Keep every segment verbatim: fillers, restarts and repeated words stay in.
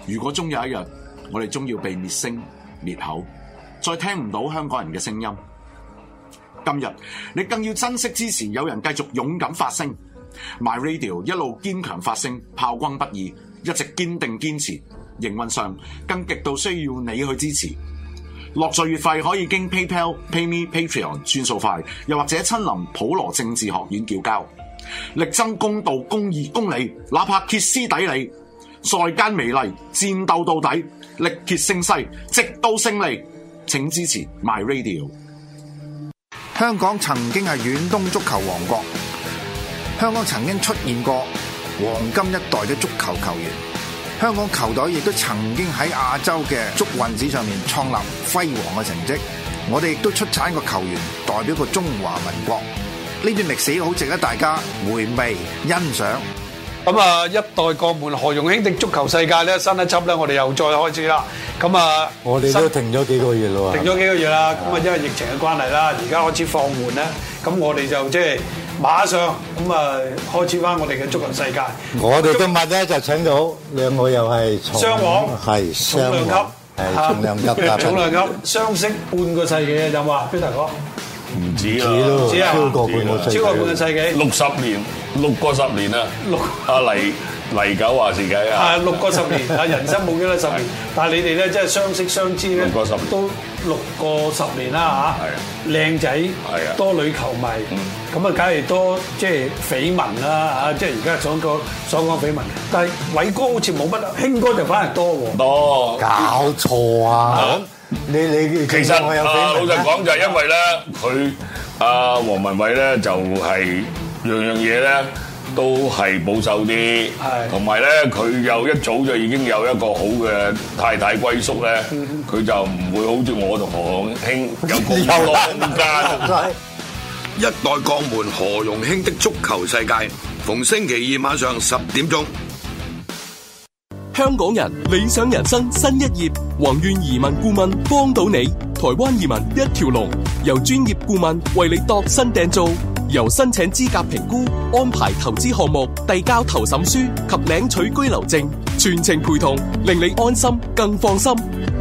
如果終有一日，我哋終要被滅聲滅口，再聽唔到香港人嘅聲音。今日你更要珍惜支持有人繼續勇敢發聲 ，My Radio 一路堅強發聲，炮轟不已，一直堅定堅持。營運上更極度需要你去支持。落座月費可以經 PayPal、PayMe、Patreon 轉數快，又或者親臨普羅政治學院叫交，力爭公道、公義、公理，哪怕歇斯底里，在間美利，戰鬥到底，力竭勝勢，直到勝利。請支持 My Radio。 香港曾經係遠東足球王國，香港曾經出現過黃金一代嘅足球球員，香港球隊亦都曾經喺亞洲嘅足運史上面創立輝煌嘅成績。我哋亦都出產個球員代表個中華民國，呢段歷史好值得大家回味欣賞。 咁啊，一代國門何容興的足球世界咧，新一輯咧，我哋又再開始啦。咁啊， 我哋都停咗幾個月咯喎， 停咗幾個月啦。咁啊，因為疫情嘅關係啦，而家開始放緩咧，咁我哋就即係馬上咁啊，開始翻我哋嘅足球世界。 我哋今日咧就請到兩個又係雙王， 係雙王，係重量級㗎， 重量級相識半個世紀嘅有冇啊，Peter哥？ 唔止啦， 唔止啊， 超過半個世紀， 超過半個世紀， 六十年，六個十年啊！六阿黎黎九話事計啊！ 係六個十年，啊人生冇幾多十年，但係你哋咧即係相識相知咧，都六個十年啦嚇。靚仔，多女球迷，咁啊梗係多即係緋聞啦嚇，即係而家所講所講緋聞。但係偉哥好似冇乜，興哥就反而多喎。 多搞錯啊！你你其實啊，老實講就係因為咧，佢阿黃文偉咧就係樣樣嘢咧都係保守啲，同埋咧佢又一早就已經有一個好嘅太太歸宿咧，佢就唔會好似我同何興有咁多空間。 一代國門何容興的足球世界，逢星期二晚上十點鐘。 香港人理想人生新一頁，宏願移民顧問幫到你，台灣移民一條龍，由專業顧問為你度身訂造，由申請資格評估、安排投資項目、遞交投審書及領取居留證，全程陪同，令你安心更放心。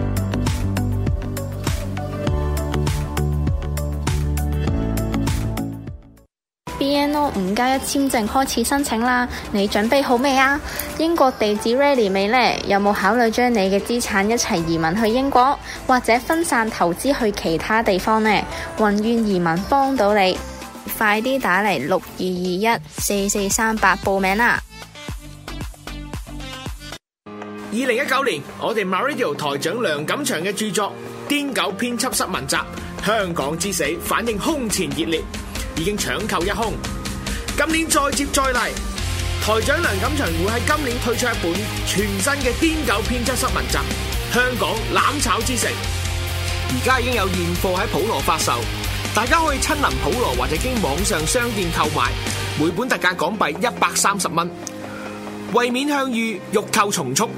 B N O 五加一簽證開始申請啦，你準備好未啊？英國地址 ready 未呢？有冇考慮將你嘅資產一齊移民去英國，或者分散投資去其他地方呢？宏願移民幫到你，快啲打嚟六二二一四四三八報名啦！ 二零一九年，我哋 MyRadio 台長梁錦祥嘅著作《癲狗編輯室文集》香港之死反應空前熱烈，已經搶購一空。今年再接再厲，台長梁錦祥會喺今年推出一本全新嘅《癲狗編輯室文集》香港攬炒之城，而家已經有現貨喺普羅發售，大家可以親臨普羅或者經網上商店購買，每本特價港幣一百三十蚊，為免向隅，欲購從速。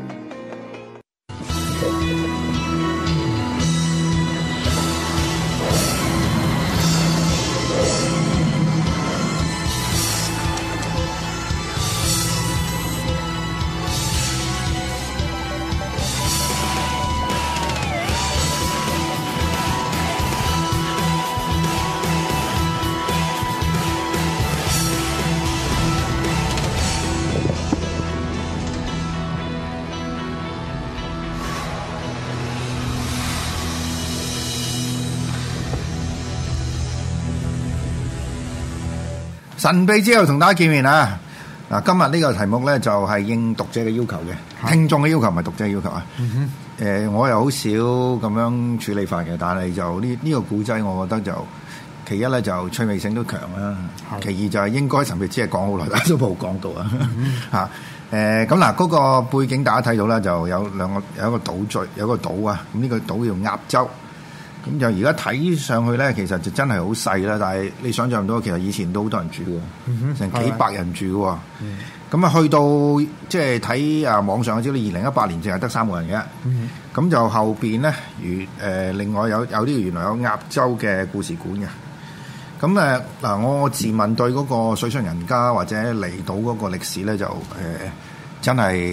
神秘之後同大家見面啊！嗱，今日呢個題目咧就係應讀者嘅要求嘅，聽眾嘅要求唔係讀者嘅要求啊。誒、嗯呃，我又好少咁樣處理法嘅，但係就呢呢、呢個古仔，我覺得就其一咧就趣味性都強啦，其二就係應該神秘之係講好耐，但都冇講到、嗯、啊嚇。誒咁嗱，嗰個背景大家睇到啦，就有兩個有一個島嶼，有一個島啊。咁呢個島叫鴨洲。咁就而家睇上去咧，其實就真係好細啦。但係你想象唔到，其實以前都好多人住嘅，成、嗯、幾百人住嘅。咁、嗯、啊，去到即係睇啊網上嘅資料，二零一八年淨係得三個人嘅。咁、嗯、就後邊咧，如誒、呃、另外有有呢個原來有鴨洲嘅故事館嘅。咁誒嗱，我自問對嗰個水上人家或者離島嗰個歷史咧，就誒、呃、真係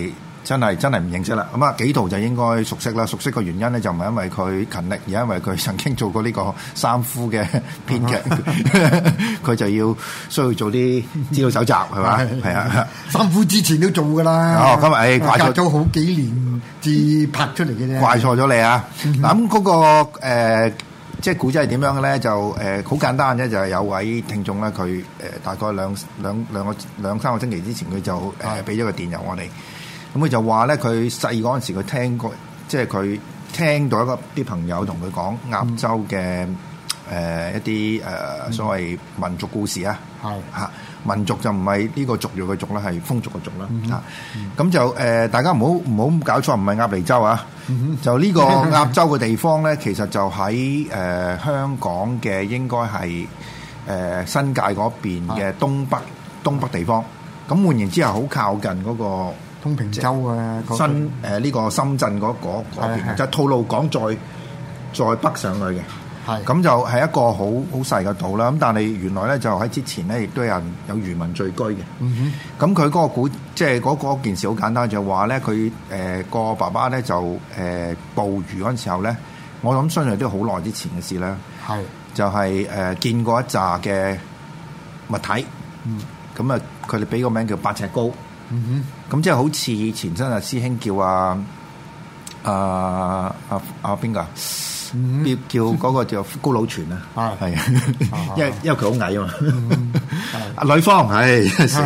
真係真係唔認識啦。咁啊，紀陶就應該熟悉啦。熟悉嘅原因咧，就唔係因為佢勤力，而係因為佢曾經做過呢個三夫嘅編劇，佢就要需要做啲資料搜集，係嘛？係啊， 三夫之前都做㗎啦。 哦，咁啊，誒怪錯咗好幾年至拍出嚟嘅啫。 怪錯咗你啊！嗱咁嗰個誒。即係古仔係點樣嘅咧？就誒好、呃、簡單啫，就係、是、有位聽眾咧，佢誒、呃、大概兩兩兩個兩三個星期之前，佢就誒俾咗個電郵我哋。咁佢就話咧，佢細嗰陣時佢聽過，即係佢聽到一個啲朋友同佢講鴨州嘅誒、呃、一啲誒、呃、所謂民族故事啊。係嚇、嗯，民族就唔係呢個族裔嘅族啦，係風俗嘅族啦嚇。咁、嗯嗯、就誒、呃、大家唔好唔好搞錯，唔係鴨脷洲啊。嗯、就呢個鴨州嘅地方咧，其實就喺誒、呃、香港嘅應該係誒、呃、新界嗰邊嘅東北、嗯、東北地方。咁換言之係好靠近嗰個東平洲啊， 新誒呢、呃這個深圳嗰嗰嗰邊，就係吐露港再再北上去嘅。係咁就係一個好好細嘅島啦。咁但係原來咧就喺之前咧，亦都有人有漁民聚居嘅。嗯哼。咁佢嗰個古即係嗰嗰件事好簡單，就係話咧佢誒個爸爸咧就誒、呃、捕魚嗰陣時候咧，我諗相信都好耐之前嘅事啦。係就係、是、誒、呃、見過一紮嘅物體。嗯。咁啊，佢哋俾個名叫八尺高。嗯哼。咁即係好似以前真係師兄叫啊啊啊啊邊個？嗯、叫嗰個叫高佬全啊，係啊，因為因為佢好矮啊嘛。阿呂方係，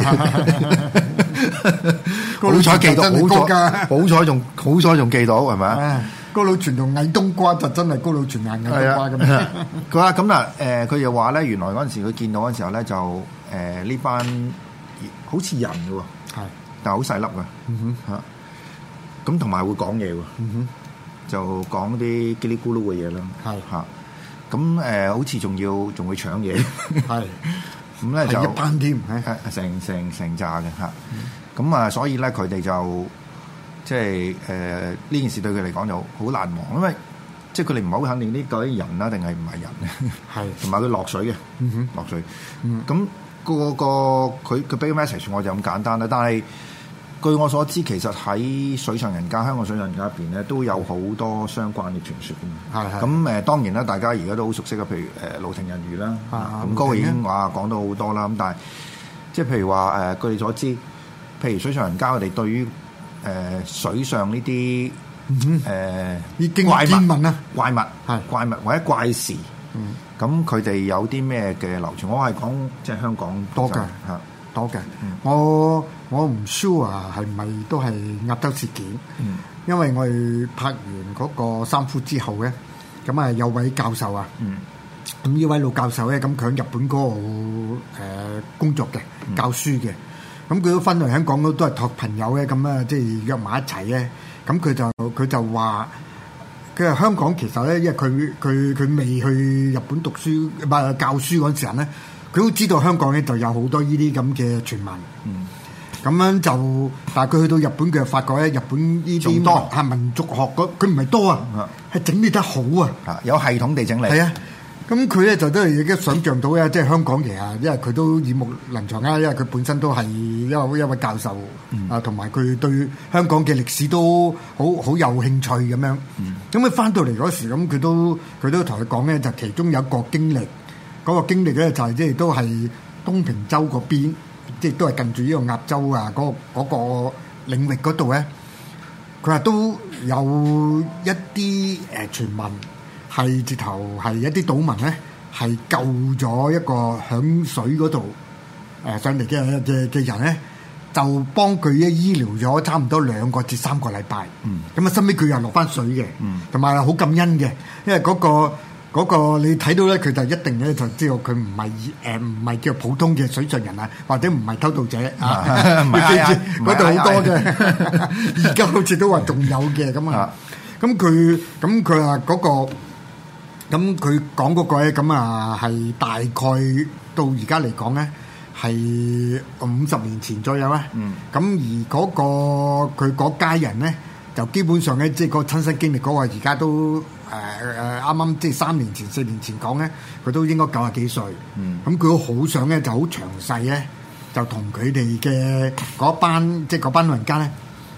好彩記到，好彩好彩仲好彩仲記到係咪？ 高佬全同矮冬瓜就真係高佬全硬嘅冬瓜咁。 佢話咁嗱，誒佢又話咧，原來嗰陣時佢見到嗰陣時候咧，就誒呢、呃、班好似人嘅喎，係，但係好細粒嘅，嗯哼嚇，咁同埋會講嘢喎，嗯哼。就講啲嘰哩咕嚕嘅嘢啦，係嚇，咁誒、呃、好似仲要仲會搶嘢，係，咁咧就一班添，成成成扎嘅嚇，咁、嗯、啊所以咧佢哋就即係誒呢件事對佢嚟講就好難忘，因為即係佢哋唔係好肯定呢個啲人啦定係唔係人咧，係，同埋佢落水嘅，嗯哼，落水，咁、嗯嗰個個佢佢俾個 message 我就咁簡單啦，但係。據我所知，其實喺水上人家、香港水上人家入邊咧，都有好多相關嘅傳說嘅。係係。咁誒，當然啦，大家而家都好熟悉嘅，譬如誒盧亭人魚啦，咁嗰個已經話講到好多啦。咁但係，即係譬如話誒，據你所知，譬如水上人家，佢哋對於誒、呃、水上呢啲誒怪物啊、怪物係怪物或者怪事，咁佢哋有啲咩嘅流傳？我係講即係香港多㗎嚇。多嘅、嗯，我我唔 sure 係咪都係鴨洲事件，嗯、因為我哋拍完嗰個三夫之後咧，咁啊有位教授啊，咁呢、嗯、位老教授咧，咁佢喺日本嗰度誒工作嘅，教書嘅，咁佢都分嚟香港都都係託朋友咧，咁啊即係約埋一齊咧，咁佢就佢就話，佢話香港其實咧，因為佢佢佢未去日本讀書唔係教書嗰陣時咧。佢都知道香港咧就有好多呢啲咁嘅傳聞，嗯，咁樣就，但係佢去到日本，佢就發覺咧，日本呢啲多係民族學嗰，佢唔係多啊，係整理得好啊， 有系統地整理。 係啊，咁佢咧就都係已經想像到咧，即係香港其實，因為佢都耳目能詳啊，因為佢本身都係一位一位教授，嗯、啊，同埋佢對香港嘅歷史都好好有興趣咁樣。咁佢翻到嚟嗰時，咁佢都佢都同佢講咧，就其中有一個經歷。嗰個經歷咧就係即係都係東平洲嗰邊，即係都係近住呢個鴨洲啊嗰嗰個領域嗰度咧。佢話都有一啲誒傳聞係直頭係一啲島民咧係救咗一個響水嗰度誒上嚟嘅嘅嘅人咧，就幫佢咧醫療咗差唔多兩個至三個禮拜。嗯，咁啊，收尾佢又落翻水嘅，嗯，同埋好感恩嘅，因為嗰個。嗰、那個你睇到咧，佢就一定咧就知道佢唔係誒唔係叫普通嘅水上人啊，或者唔係偷渡者啊，嗰度好多嘅，而家好似都話仲有嘅咁啊。咁佢咁佢話嗰個咁佢講嗰個咧，咁啊係大概到而家嚟講咧係五十年前左右啦。嗯，咁而嗰、那個佢嗰家人咧就基本上咧即係個親身經歷嗰個而家都。誒誒啱啱即係三年前四年前講咧，佢都應該九十幾歲。嗯，咁佢都好想咧，就好詳細咧，就同佢哋嘅嗰班即係嗰班老人家咧，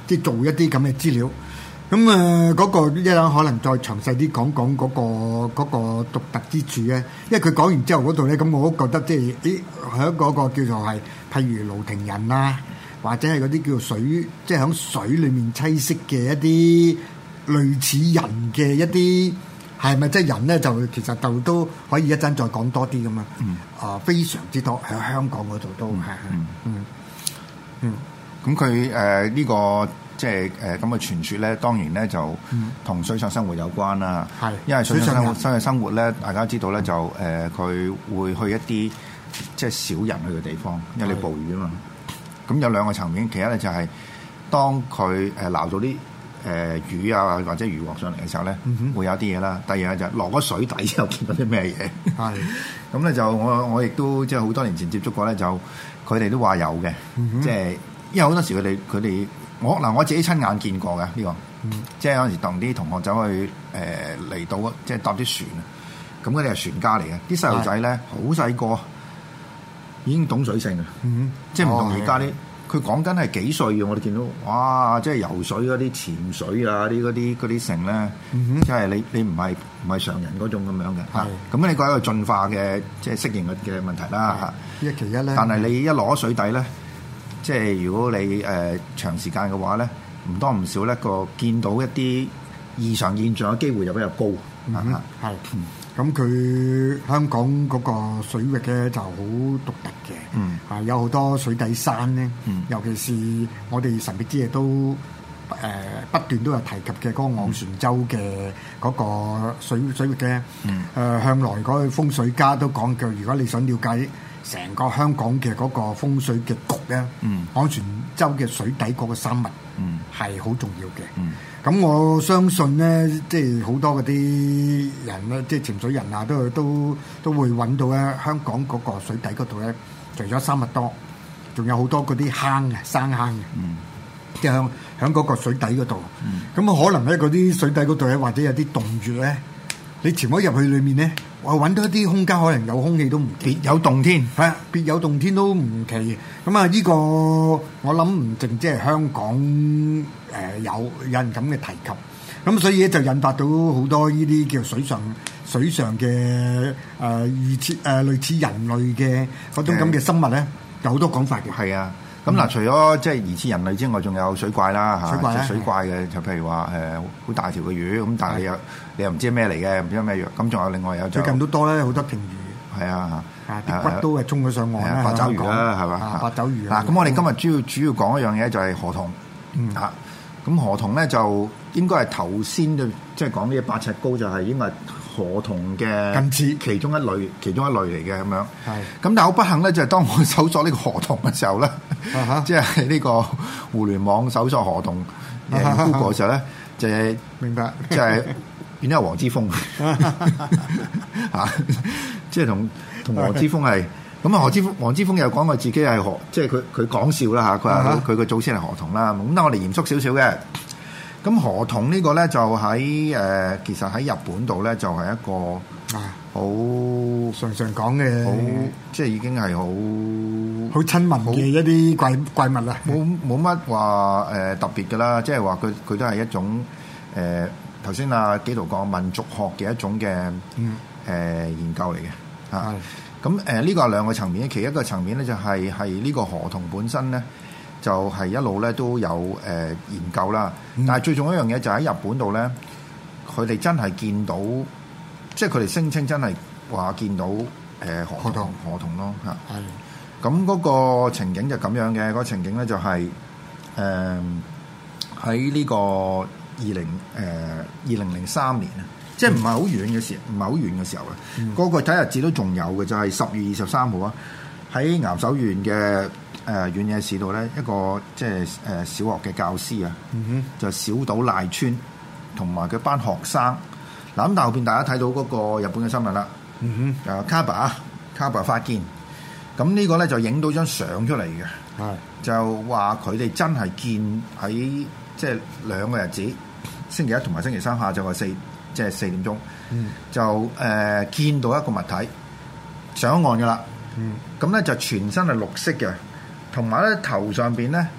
即係做一啲咁嘅資料。咁啊嗰個一陣可能再詳細啲講講嗰個嗰個獨特之處咧，因為佢講完之後嗰度咧，咁我都覺得即係咦喺嗰個叫做係譬如盧亭人啊，或者係嗰啲叫做水，即係喺水裡面棲息嘅一啲類似人嘅一啲係咪即係人咧？就其實就都可以一陣再講多啲咁啊！嗯啊，非常之多喺香港嗰度都係嗯嗯嗯，咁佢誒呢個。即係誒咁嘅傳說咧，當然咧就同水上生活有關啦。係、嗯，因為水上生活、水上生活咧，大家知道咧就誒佢、呃、會去一啲即係少人去嘅地方，因為你捕魚啊嘛。咁有兩個層面，其一咧就係當佢誒撈到啲誒、呃、魚啊或者魚獲上嚟嘅時候咧，嗯、會有啲嘢啦。第二就係落咗水底之後見到啲咩嘢。係，咁咧就我我亦都即係好多年前接觸過咧，就佢哋都話有嘅，嗯、即係因為好多時佢哋佢哋。我嗱我自己親眼見過嘅呢、這個，嗯、即係有陣時同啲同學走去誒嚟、呃、到，即係搭啲船啊。咁嗰啲係船家嚟嘅，啲細路仔咧好細個，已經懂水性啊！嗯、即係唔同而家啲，佢講緊係幾歲嘅。我哋見到，哇！即係游水嗰啲、潛水啊，啲嗰啲嗰啲成咧，嗯、即係你你唔係唔係常人嗰種咁樣嘅嚇。咁呢個係一個進化嘅即係適應嘅嘅問題啦嚇。一其一咧，但係你一攞水底咧。即係如果你誒、呃、長時間嘅話咧，唔多唔少咧個見到一啲異常現象嘅機會就比較高。嗯，係。咁佢香港嗰個水域咧就好獨特嘅。嗯。啊，有好多水底山咧。嗯。尤其是我哋神秘之夜都誒、呃、不斷都有提及嘅嗰個昂船洲嘅嗰個水水域嘅。嗯。誒、呃、向來嗰個風水家都講句，如果你想了解成個香港嘅嗰個風水嘅局咧，嗯、昂船洲嘅水底嗰個生物係好重要嘅。咁、嗯、我相信咧，即係好多嗰啲人咧，即係潛水人啊，都都都會揾到咧香港嗰個水底嗰度咧，除咗生物多，仲有好多嗰啲坑嘅生坑嘅，嗯、即係響響嗰個水底嗰度。咁、嗯、可能咧嗰啲水底嗰度咧，或者有啲洞穴咧，你潛咗入去裏面咧。我揾到一啲空間，可能有空氣都唔奇，別有洞天，係啊，別有洞天都唔奇。咁啊，呢個我諗唔淨即係香港誒、呃、有有人咁嘅提及，咁所以咧就引發到好多呢啲叫水上水上嘅誒預設誒類似人類嘅嗰種咁嘅生物咧，有好多講法嘅。係啊。咁嗱，除咗即係疑似人類之外，仲有水怪啦嚇，水怪，水怪嘅就譬如話誒好大條嘅魚，咁但係你又你又唔知咩嚟嘅，唔知咩藥。咁仲有另外有最近都多咧，好多鯨魚。係啊，啲骨都係衝咗上岸啦，八爪魚啦，係嘛？八爪魚啊！嗱，咁我哋今日主要主要講一樣嘢就係河童嚇。咁河童咧就應該係頭先就即係講呢八尺高，就係應該係河童嘅近似其中一類，其中一類嚟嘅咁樣。係。咁但係好不幸咧，就係當我搜索呢個河童嘅時候咧，即係呢個互聯網搜索河童誒 Google 嘅時候咧，就係明白，即係變咗黃之鋒嚇，即係同同黃之鋒係。咁啊，何之鋒、黃之鋒又講過自己係河，即係佢佢講笑啦嚇。佢話佢個祖先係河童啦。咁但係我哋嚴肅少少嘅。咁河童呢個咧就喺誒、呃，其實喺日本度咧就係、是、一個好常常講嘅，好即係已經係好好親民嘅一啲怪怪物啦。冇冇乜話誒特別㗎啦，即係話佢佢都係一種誒頭先阿紀陶講民族學嘅一種嘅誒、嗯呃、研究嚟嘅嚇。咁誒呢個係兩個層面，其一個層面咧就係係呢個河童本身咧，就係、是、一路咧都有誒、呃、研究啦。嗯、但係最重要一樣嘢就喺日本度咧，佢哋真係見到，即係佢哋聲稱真係話見到誒、呃、河童河童咯嚇。係。咁嗰個情景就咁樣嘅，嗰、那個情景咧就係誒喺呢個二零誒二零零三年啊。即係唔係好遠嘅時，唔係好遠嘅時候啊！嗰、嗯、個睇日子都仲有嘅，就係、是、十月二十三號啊！喺岩手縣嘅誒遠野市度咧，一個即係誒小學嘅教師啊，嗯、哼就小島賴川同埋佢班學生。嗱咁，但後邊大家睇到嗰個日本嘅新聞啦，嗯哼，誒卡巴啊，卡巴發見，咁呢個咧就影到張相出嚟嘅，係、嗯、就話佢哋真係見喺即係兩個日子，星期一同埋星期三下晝嘅四。即係四點鐘，嗯、就誒、呃、見到一個物體上岸嘅啦。咁咧、嗯、就全身係綠色嘅，同埋咧頭上邊咧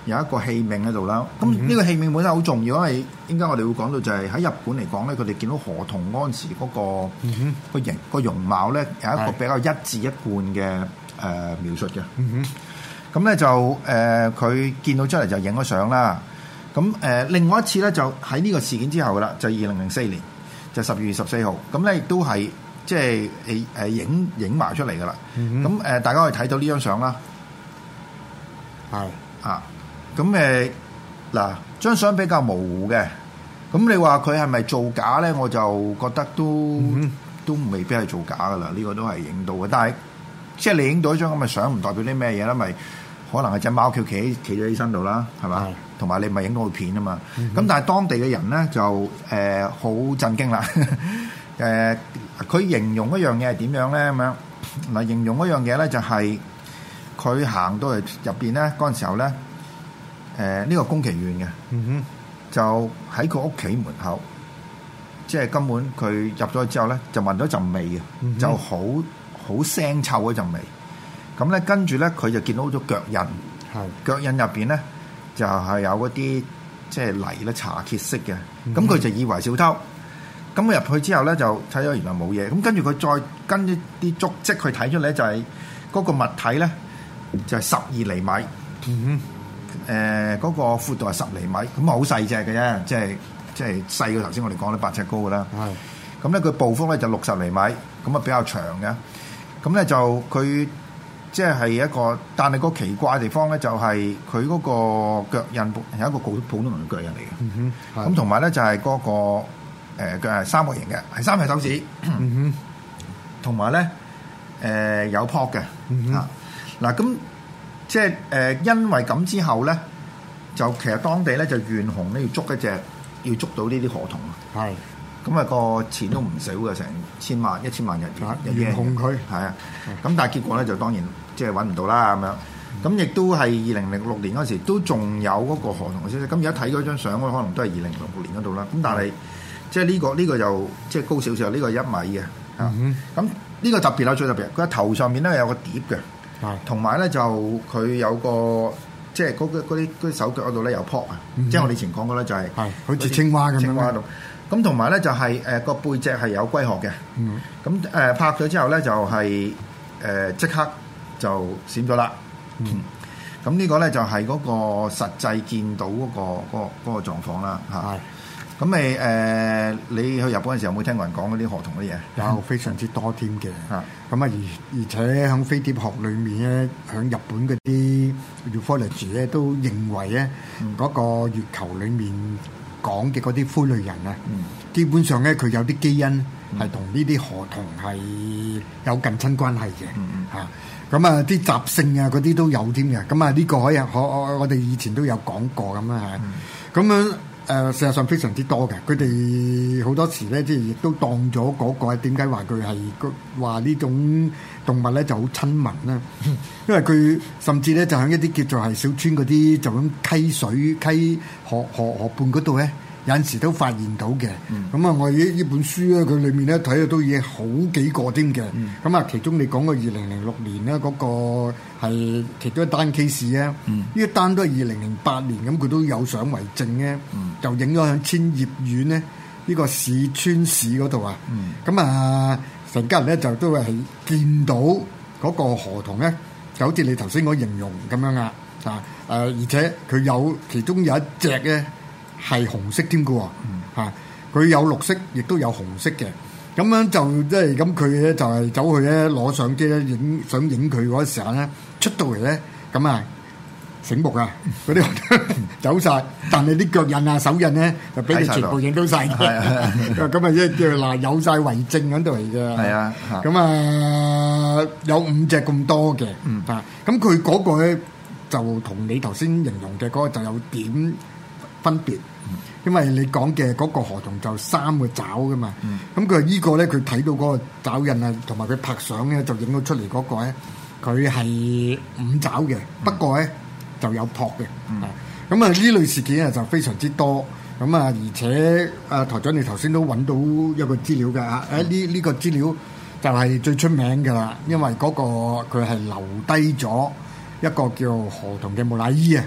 有一個器皿喺度啦。咁呢個器皿本身好重要，因為應該我哋會講到就係喺日本嚟講咧，佢哋見到河童嗰陣時嗰、嗰個個形個容貌咧有一個比較一致一貫嘅誒、呃、描述嘅。咁咧、嗯、就誒佢、呃、見到出嚟就影咗相啦。咁誒、呃、另外一次咧就喺呢個事件之後噶啦，就二零零四年就十二月十四號，咁咧亦都係即係誒誒影影埋出嚟噶啦。咁誒、呃、大家可以睇到呢張相啦。係啊，咁誒嗱張相比較模糊嘅，咁你話佢係咪造假咧？我就覺得都、嗯、都未必係造假噶啦，呢、呢個都係影到嘅。但係即係你影到一張咁嘅相，唔代表啲咩嘢啦？咪可能係隻貓企企企咗喺身度啦，係嘛？同埋你咪影到個片啊嘛。咁、嗯、但係當地嘅人咧就誒好、呃、震驚啦。誒、呃，佢形容一樣嘢係點樣咧？咁樣嗱，形容一樣嘢咧就係、是。佢行到嚟入邊咧，嗰陣時候咧，誒、呃、呢、這個宮崎縣嘅，嗯、哼就喺佢屋企門口，即係根本佢入咗去之後咧，就聞到一陣味嘅，嗯、哼就好好腥臭嗰陣味。咁咧跟住咧，佢就見到咗腳印，係是腳印入邊咧就係、是、有嗰啲即係泥咧茶褐色嘅。咁佢、嗯、哼就以為小偷。咁入去之後咧，就睇咗原來冇嘢。咁跟住佢再跟一啲足跡去睇出嚟，就係嗰個物體咧。就係十二厘米，嗯哼，誒嗰、呃那個闊度係十厘米，咁啊好細隻嘅啫，即係即係細過頭先我哋講咧八尺高嘅啦。係是，咁咧佢步幅咧就六十厘米，咁啊比較長嘅。咁咧就佢即係係一個，但係個奇怪嘅地方咧就係佢嗰個腳印係一個普普通人嘅腳印嚟嘅。嗯哼，咁同埋咧就係嗰、那個誒腳係三角形嘅，係三隻手指。嗯哼，同埋咧誒有泡嘅。嗯哼。啊嗱咁即係誒、呃，因為咁之後咧，就其實當地咧就懸紅咧要捉一隻，要捉到呢啲河童啊。係咁啊，個錢都唔少嘅，成千萬、一千萬日元。懸紅佢係啊，咁但係結果咧就當然即係揾唔到啦咁樣。咁亦都係二零零六年嗰時都仲有嗰個河童嘅消息。咁而家睇嗰張相可能都係二零零六年嗰度啦。咁但係即係呢個呢、呢個就即係高少少，呢、呢個係一米嘅。啊、嗯，咁呢個特別啦，最特別，佢喺頭上面咧有個碟嘅。同埋咧就佢有個即係嗰啲啲手腳嗰度咧有泡啊，嗯、即係我哋以前講過咧就係、是、 好似青蛙咁樣。青蛙度咁同埋咧就係誒個背脊係有龜殼嘅。咁誒、嗯呃、拍咗之後咧就係誒即刻就閃咗啦。咁、嗯、呢個咧就係嗰個實際見到嗰、那個嗰、那個嗰、那個狀況啦嚇。係咁咪誒你去日本嘅時候有冇聽過人講嗰啲河童嗰啲嘢？ 有非常之多添嘅。啊咁啊而而且喺飛碟學裏面咧，喺日本嗰啲 ufology 咧都認為咧嗰、嗯、個月球裡面講嘅嗰啲灰類人啊，嗯、基本上咧佢有啲基因係同呢啲河童係有近親關係嘅。嚇咁啊啲習性啊嗰啲都有添嘅。咁啊呢個可以可我我哋以前都有講過咁啊嚇。咁樣。誒、呃，事實上非常之多嘅，佢哋好多時咧，即係亦都當咗嗰、那個點解話佢係話呢種動物咧就好親民啦，因為佢甚至咧就喺一啲叫做係小村嗰啲就咁溪水溪河河河畔嗰度咧，有陣時都發現到嘅。咁啊、嗯，我呢呢本書咧，佢裏面咧睇到都已經好幾個添嘅。咁啊、嗯，其中你講個二零零六年咧嗰、那個係其中一單 case 啊，呢一單都係二零零八年，咁佢都有相為證咧，嗯、就影咗喺千葉縣咧呢、這個市川市嗰度啊。咁、嗯、啊，成家人咧就都係見到嗰個河童咧，就好似你頭先嗰形容咁樣啊。啊誒，而且佢有其中有一隻咧。係紅色添嘅喎，嚇佢有綠色，亦都有紅色嘅。咁樣就即係咁，佢咧就係走去咧攞相機咧影，想影佢嗰時候咧出到嚟咧，咁啊醒目啊，嗰啲走晒，但係啲腳印啊、手印咧就俾你全部影到晒嘅。咁啊，即係叫嗱有晒為證喺度嚟嘅。係啊，咁啊有五隻咁多嘅，啊咁佢嗰個咧就同你頭先形容嘅嗰個就有點分別，因為你講嘅嗰個河童就三個爪噶嘛，咁佢依個咧佢睇到嗰個爪印啊，同埋佢拍相咧就影到出嚟嗰個咧，佢係五爪嘅，不過咧就有撲嘅，咁啊呢類事件啊就非常之多，咁啊而且啊台長你頭先都揾到一個資料㗎，啊呢呢個資料就係最出名㗎啦，因為嗰個佢係留低咗一個叫河童嘅木乃伊啊。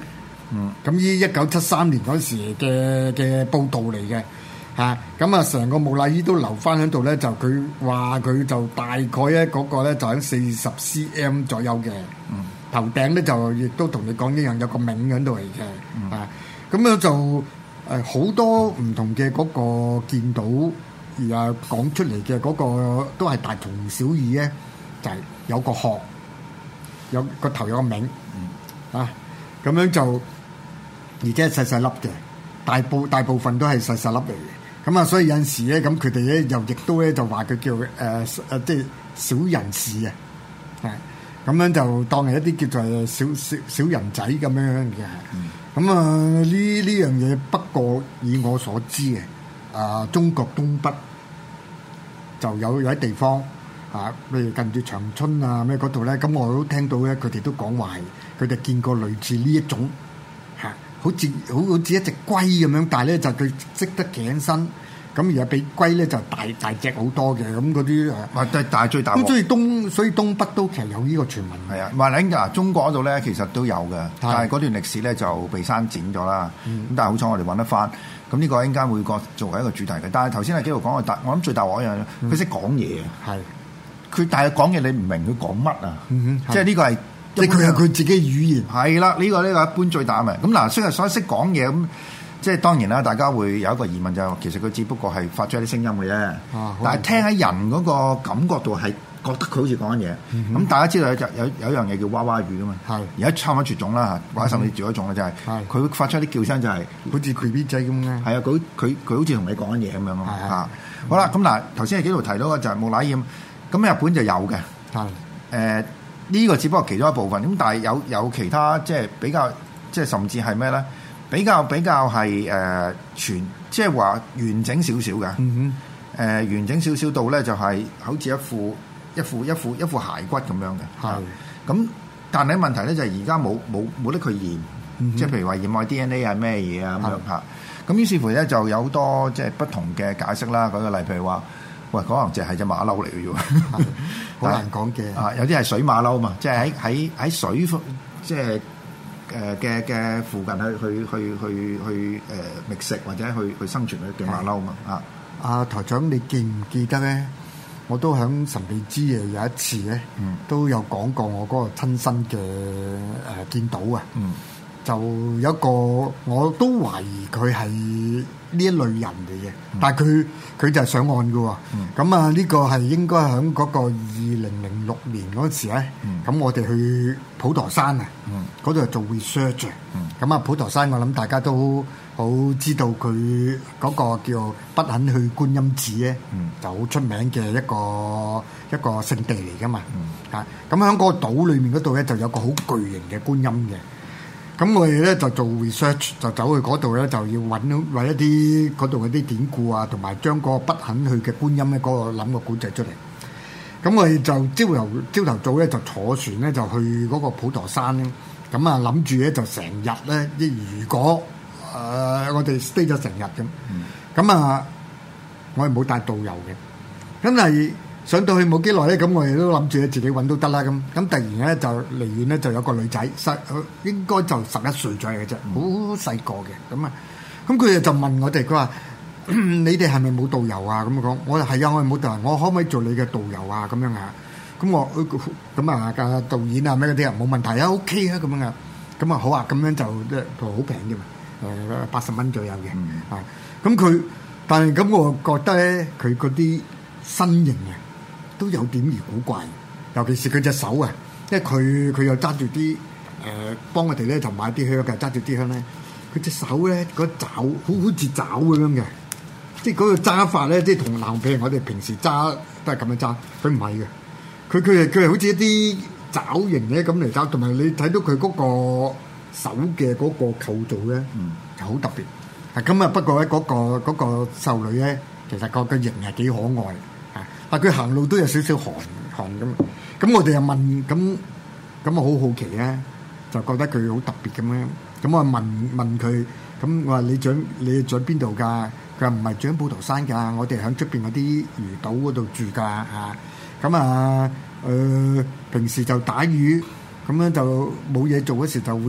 嗯，咁呢一九七三年嗰時嘅嘅報導嚟嘅嚇，咁啊成個木乃伊都留翻喺度咧，就佢話佢就大概咧嗰個咧就喺四十 cm 左右嘅，嗯，頭頂咧就亦都同你講一樣有個銘喺度嚟嘅，嗯、啊，咁樣就誒好多唔同嘅嗰個見到而啊講出嚟嘅嗰個都係大同小異咧，就係、是、有個殼，有個頭有個銘，嗯、啊。咁樣就，而且係細細粒嘅，大部大部分都係細細粒嚟嘅。咁啊，所以有陣時咧，咁佢哋咧又亦都咧就話佢叫誒誒、呃，即係小人士啊，係咁樣就當係一啲叫做小小小人仔咁樣嘅。咁、嗯、啊，呢呢樣嘢不過以我所知嘅，啊中國東北就有有啲地方啊，譬如近住長春啊咩嗰度咧，咁我都聽到咧，佢哋都講話佢哋見過類似呢一種嚇，好似好好似一隻龜咁樣，但係咧就佢識得企起身，咁而家比龜咧就大大隻好多嘅，咁嗰啲誒， 啊，但係最大鑊。咁所以東所以東北都其實有呢個傳聞。 係啊，話咧嗱，中國嗰度咧其實都有嘅，但係嗰段歷史咧就被刪剪咗啦。咁、嗯、但係好彩我哋揾得翻。咁呢個應該會個作為一個主題嘅。但係頭先阿紀陶講嘅大，我諗最大鑊一樣，佢識講嘢啊。係、嗯，佢但係講嘢你唔明佢講乜啊？即係呢個係。即係佢有佢自己語言，係啦，呢、這個呢、這個一般最大嘅。咁嗱，雖然所以識講嘢咁，即係當然啦，大家會有一個疑問就係、是，其實佢只不過係發出一啲聲音嘅啫。啊、但係聽喺人嗰個感覺度係覺得佢好似講緊嘢。咁、嗯、大家知道有有有一樣嘢叫娃娃語㗎嘛。係而家差唔多絕種啦，或者甚至絕咗種啦，就係佢會發出一啲叫聲、就是，就係好似 B B 仔咁嘅。係啊，佢佢佢好似同你講緊嘢咁樣咯。嚇，好啦，咁嗱，頭先喺幾度提到嘅就係木乃伊咁，咁日本就有嘅。係誒。呃呢、這個只不過其中一部分，咁但係有有其他即係比較，即係甚至係咩咧？比較比較係誒、呃、全，即係話完整少少嘅。嗯哼，誒、呃、完整少少到咧就係好似一副一副一副一副骸骨咁樣嘅。係。咁但係問題咧就係而家冇冇冇得佢驗，嗯、即係譬如話驗愛 D N A 係咩嘢啊咁樣嚇。咁於是乎咧就有好多即係不同嘅解釋啦。舉個例，譬如話。喂，可能淨係隻馬騮嚟嘅啫喎，好難講嘅。啊，有啲係水馬騮嘛，即係喺喺喺水即係誒嘅嘅附近去去去去去誒覓食或者去去生存嘅馬騮嘛。啊，啊台長，你記唔記得咧？我都喺神秘之夜有一次咧，嗯、都有講過我嗰個親身嘅誒、呃、見到啊。嗯就有一個我都懷疑佢係呢一類人嚟嘅，嗯、但係佢佢就係上岸嘅喎。咁、嗯、啊呢個係應該喺嗰個二零零六年嗰時咧，咁、嗯、我哋去普陀山啊，嗰度做 research。咁、嗯、啊普陀山我諗大家都好知道佢嗰個叫不肯去觀音寺咧，嗯、就好出名嘅一個一個聖地嚟㗎嘛。嚇咁喺嗰個島裏面嗰度咧就有個好巨型嘅觀音嘅。咁我哋咧就做 research，就走去嗰度咧，就要揾揾一啲嗰度嗰啲典故啊，同埋將個不肯去嘅觀音咧，嗰、嗰個諗個古仔出嚟。咁我哋就朝頭朝頭早咧就坐船咧就去嗰個普陀山咧。咁啊諗住咧就成日咧，即如果誒、呃、我哋 stay 咗成日咁，咁、嗯、啊我哋冇帶導遊嘅，咁係。上到去冇幾耐咧，咁我哋都諗住自己揾都得啦。咁咁突然咧就離遠咧就有個女仔，十應該就十一歲左右嘅啫，好細個嘅。咁啊，咁佢哋就問我哋，佢話：你哋係咪冇導遊啊？咁講，我話係啊，我係冇導遊，我可唔可以做你嘅導遊啊？咁樣啊？咁我咁啊個導演啊咩嗰啲啊冇問題啊 OK 啊咁樣啊。咁啊好啊，咁樣就即係好平嘅嘛，誒八十蚊左右嘅。啊，咁佢但係咁我覺得咧，佢嗰啲身形啊〜都有點而古怪，尤其是佢隻手啊，因為佢佢又揸住啲誒幫我哋咧就買啲香嘅，揸住啲香咧，佢隻手咧嗰爪好好似爪咁樣嘅，即係嗰個揸法咧，即係同男譬如我哋平時揸都係咁樣揸，佢唔係嘅，佢佢係佢係好似一啲爪形咧咁嚟揸，同埋你睇到佢嗰個手嘅嗰個構造咧，嗯，就好特別。係咁啊，不過咧嗰個嗰個少女咧，其實個個形係幾可愛。但佢行路都有少少寒寒咁，咁我哋又問，咁咁啊好好奇咧，就覺得佢好特別咁樣，咁我問問佢，咁我話你住你住喺邊度㗎？佢話唔係住喺普陀山㗎，我哋喺出邊嗰啲魚島嗰度住㗎嚇。咁啊誒、呃，平時就打魚，咁樣就冇嘢做嗰時就會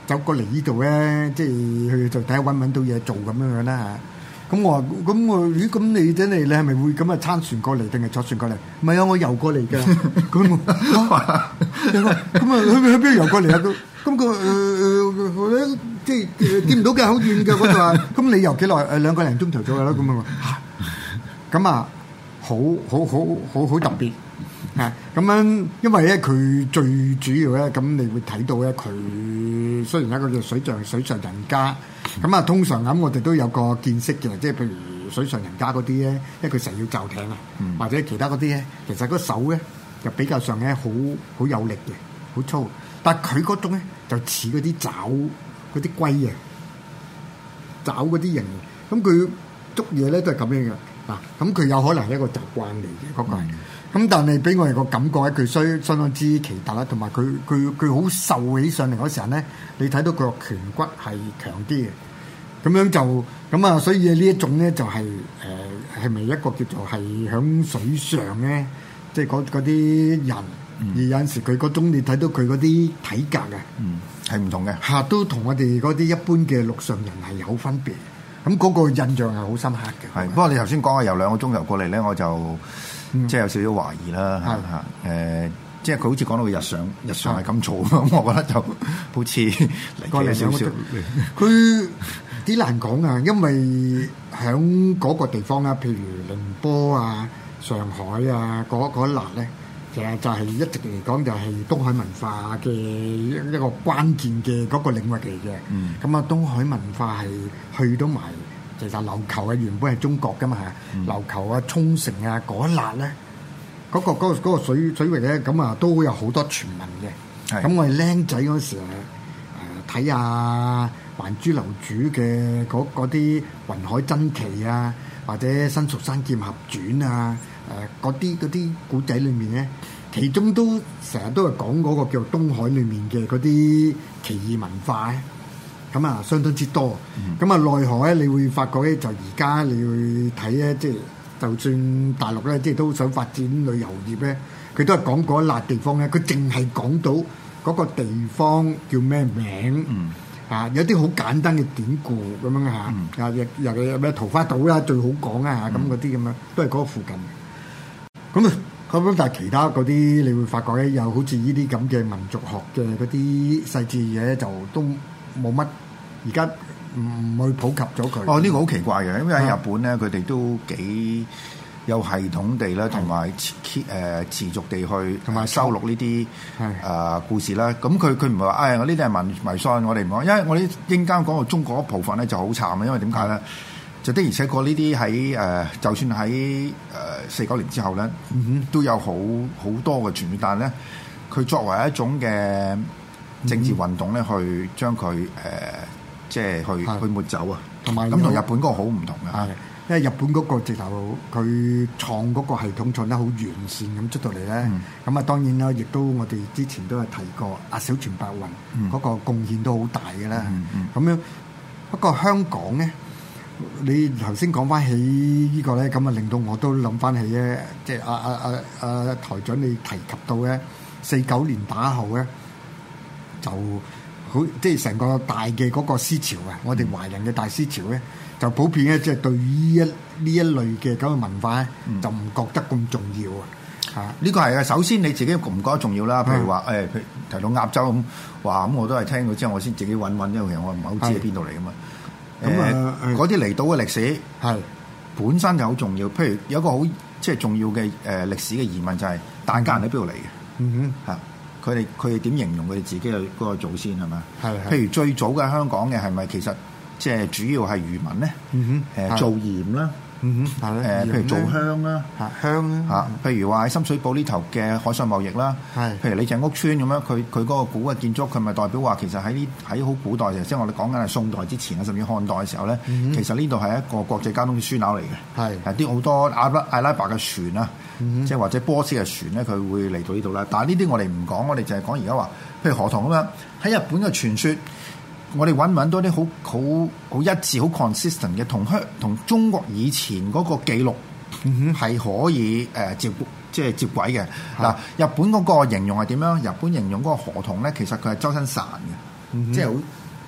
走過嚟呢度咧，即係去就睇下揾唔揾到嘢做咁樣樣啦嚇。咁我話咁我咦咁你真係你係咪會咁啊撐船過嚟定係坐船過嚟？唔係啊，我遊過嚟㗎。咁我咁啊去去邊度遊過嚟啊？咁個誒即係見唔到嘅，好遠嘅嗰度啊。咁你遊幾耐？誒兩個零鐘頭左右啦。咁啊咁啊好好好好好特別啊！咁樣因為咧佢最主要咧，咁你會睇到咧佢雖然一個叫水上水上人家。咁啊，通常咁我哋都有個見識嘅，即係譬如水上人家嗰啲咧，因為佢成日要就艇啊，嗯、或者其他嗰啲咧，其實個手咧就比較上咧好好有力嘅，好粗。但係佢嗰種咧就似嗰啲爪嗰啲龜啊，爪嗰啲人，咁佢捉嘢咧都係咁樣嘅嗱。咁佢有可能係一個習慣嚟嘅嗰個係。咁但係俾我哋個感覺咧，佢相相當之奇特啦，同埋佢佢佢好瘦起上嚟嗰時候咧，你睇到佢個顴骨係強啲嘅。咁樣就咁啊，所以呢一種咧就係誒係咪一個叫做係響水上咧，即係嗰嗰啲人，嗯、而有陣時佢嗰種你睇到佢嗰啲體格啊，嗯，係唔同嘅嚇，都同我哋嗰啲一般嘅陸上人係有分別。咁嗰個印象係好深刻嘅。係，不過你頭先講啊，由兩個鐘頭過嚟咧，我就。嗯、即係有少少懷疑啦嚇嚇誒，即係佢好似講到佢日常日常係咁做咁，我覺得就好似離奇少少。佢幾難講啊，因為喺嗰個地方啊，譬如寧波啊、上海啊嗰嗰一笪咧，其實就係一直嚟講就係東海文化嘅一一個關鍵嘅嗰個領域嚟嘅。嗯，咁啊，東海文化係去到埋。其實琉球啊，原本係中國噶嘛嚇，琉球啊、沖繩啊嗰一笪咧，嗰、嗰個嗰、嗰個水水域咧，咁啊都有好多傳聞嘅。咁我哋僆仔嗰時誒睇下《還珠樓主》嘅嗰啲雲海珍奇啊，或者《新蜀山劍俠傳》啊，誒嗰啲嗰啲古仔裏面咧，其中都成日都係講嗰個叫東海裏面嘅嗰啲奇異文化咧。咁啊，相當之多。咁啊、嗯，奈何咧，你會發覺咧，就而家你會睇咧，即係就算大陸咧，即係都想發展旅遊業咧，佢都係講嗰一笪地方咧，佢淨係講到嗰個地方叫咩名，嗯、啊，有啲好簡單嘅典故咁樣嚇，嗯、啊，又又有咩桃花島啦，最好講啊，咁嗰啲咁樣，都係嗰個附近。咁啊，咁但係其他嗰啲，你會發覺咧，又好似呢啲咁嘅民族學嘅嗰啲細節嘢，就都冇乜，而家唔去普及咗佢。 哦，呢、這個好奇怪嘅，因為喺日本咧，佢哋都幾有系統地啦，同埋誒持續地去同埋收錄呢啲誒故事啦。咁佢佢唔係話，唉、哎，我呢啲係迷迷信，我哋唔講，因為我哋應間講到中國一部分咧就好慘啊，因為點解咧？就的而且確呢啲喺誒，就算喺誒四九年之後咧，嗯、哼都有好好多嘅傳説，但係咧，佢作為一種嘅政治運動咧，嗯、去將佢誒、呃、即係去的去抹走啊，同埋咁同日本嗰個好唔同嘅，因為日本嗰個直頭佢創嗰個系統創得好完善咁出到嚟咧，咁啊、嗯、當然啦，亦都我哋之前都係提過阿小泉白雲嗰、嗯、個貢獻都好大嘅啦，咁、嗯嗯、樣不過香港咧。你頭先講翻起呢個咧，咁啊令到我都諗翻起咧，即係阿阿阿阿台長你提及到咧，四九年打後咧就好，即係成個大嘅嗰個思潮啊！我哋華人嘅大思潮咧，就普遍咧，即係對於一呢一類嘅咁嘅文化咧，嗯、就唔覺得咁重要啊！嚇， 呢個係啊，首先你自己唔覺得重要啦。譬如話誒，譬如提到鴨洲咁話，咁我都係聽到之後，我先自己揾揾，因為其實我唔係好知喺邊度嚟噶嘛。咁啊，嗰啲離島嘅歷史係本身就好重要。譬如有一個好即係重要嘅誒、呃、歷史嘅疑問就係疍家人喺邊度嚟嘅？嗯哼，嚇佢哋佢哋點形容佢哋自己嘅嗰個祖先係咪？係係。譬如最早嘅香港嘅係咪其實即係主要係漁民咧？嗯哼，誒、呃、做鹽啦。嗯哼，誒譬如做香啦，香啦嚇，譬如話喺深水埗呢頭嘅海上貿易啦，係，譬如你隻屋村咁樣，佢佢嗰個古嘅建築，佢咪代表話其實喺呢喺好古代嘅，即係我哋講緊係宋代之前啊，甚至漢代嘅時候咧，嗯、其實呢度係一個國際交通嘅樞紐嚟嘅，係，係啲好多阿拉阿拉伯嘅船啊，嗯、即係或者波斯嘅船咧，佢會嚟到呢度啦。但係呢啲我哋唔講，我哋就係講而家話，譬如河童咁樣喺日本嘅傳說。我哋揾唔揾到啲好好好一致、好 consistent 嘅同香同中國以前嗰個記錄係可以誒、呃、接即係接軌嘅嗱。日本嗰個形容係點樣？日本形容嗰個河童咧，其實佢係周身潺嘅，嗯、哼即係好